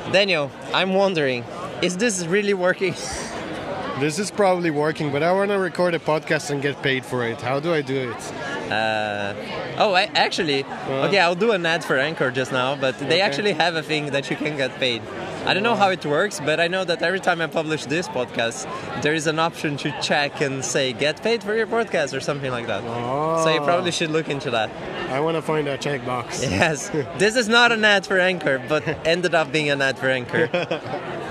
Daniel, I'm wondering, is this really working? This is probably working, but I want to record a podcast and get paid for it. How do I do it? Okay, I'll do an ad for Anchor just now, but they actually have a thing that you can get paid. I don't know how it works, but I know that every time I publish this podcast, there is an option to check and say, get paid for your podcast or something like that. So you probably should look into that. I want to find that checkbox. Yes, this is not an ad for Anchor, but ended up being an ad for Anchor.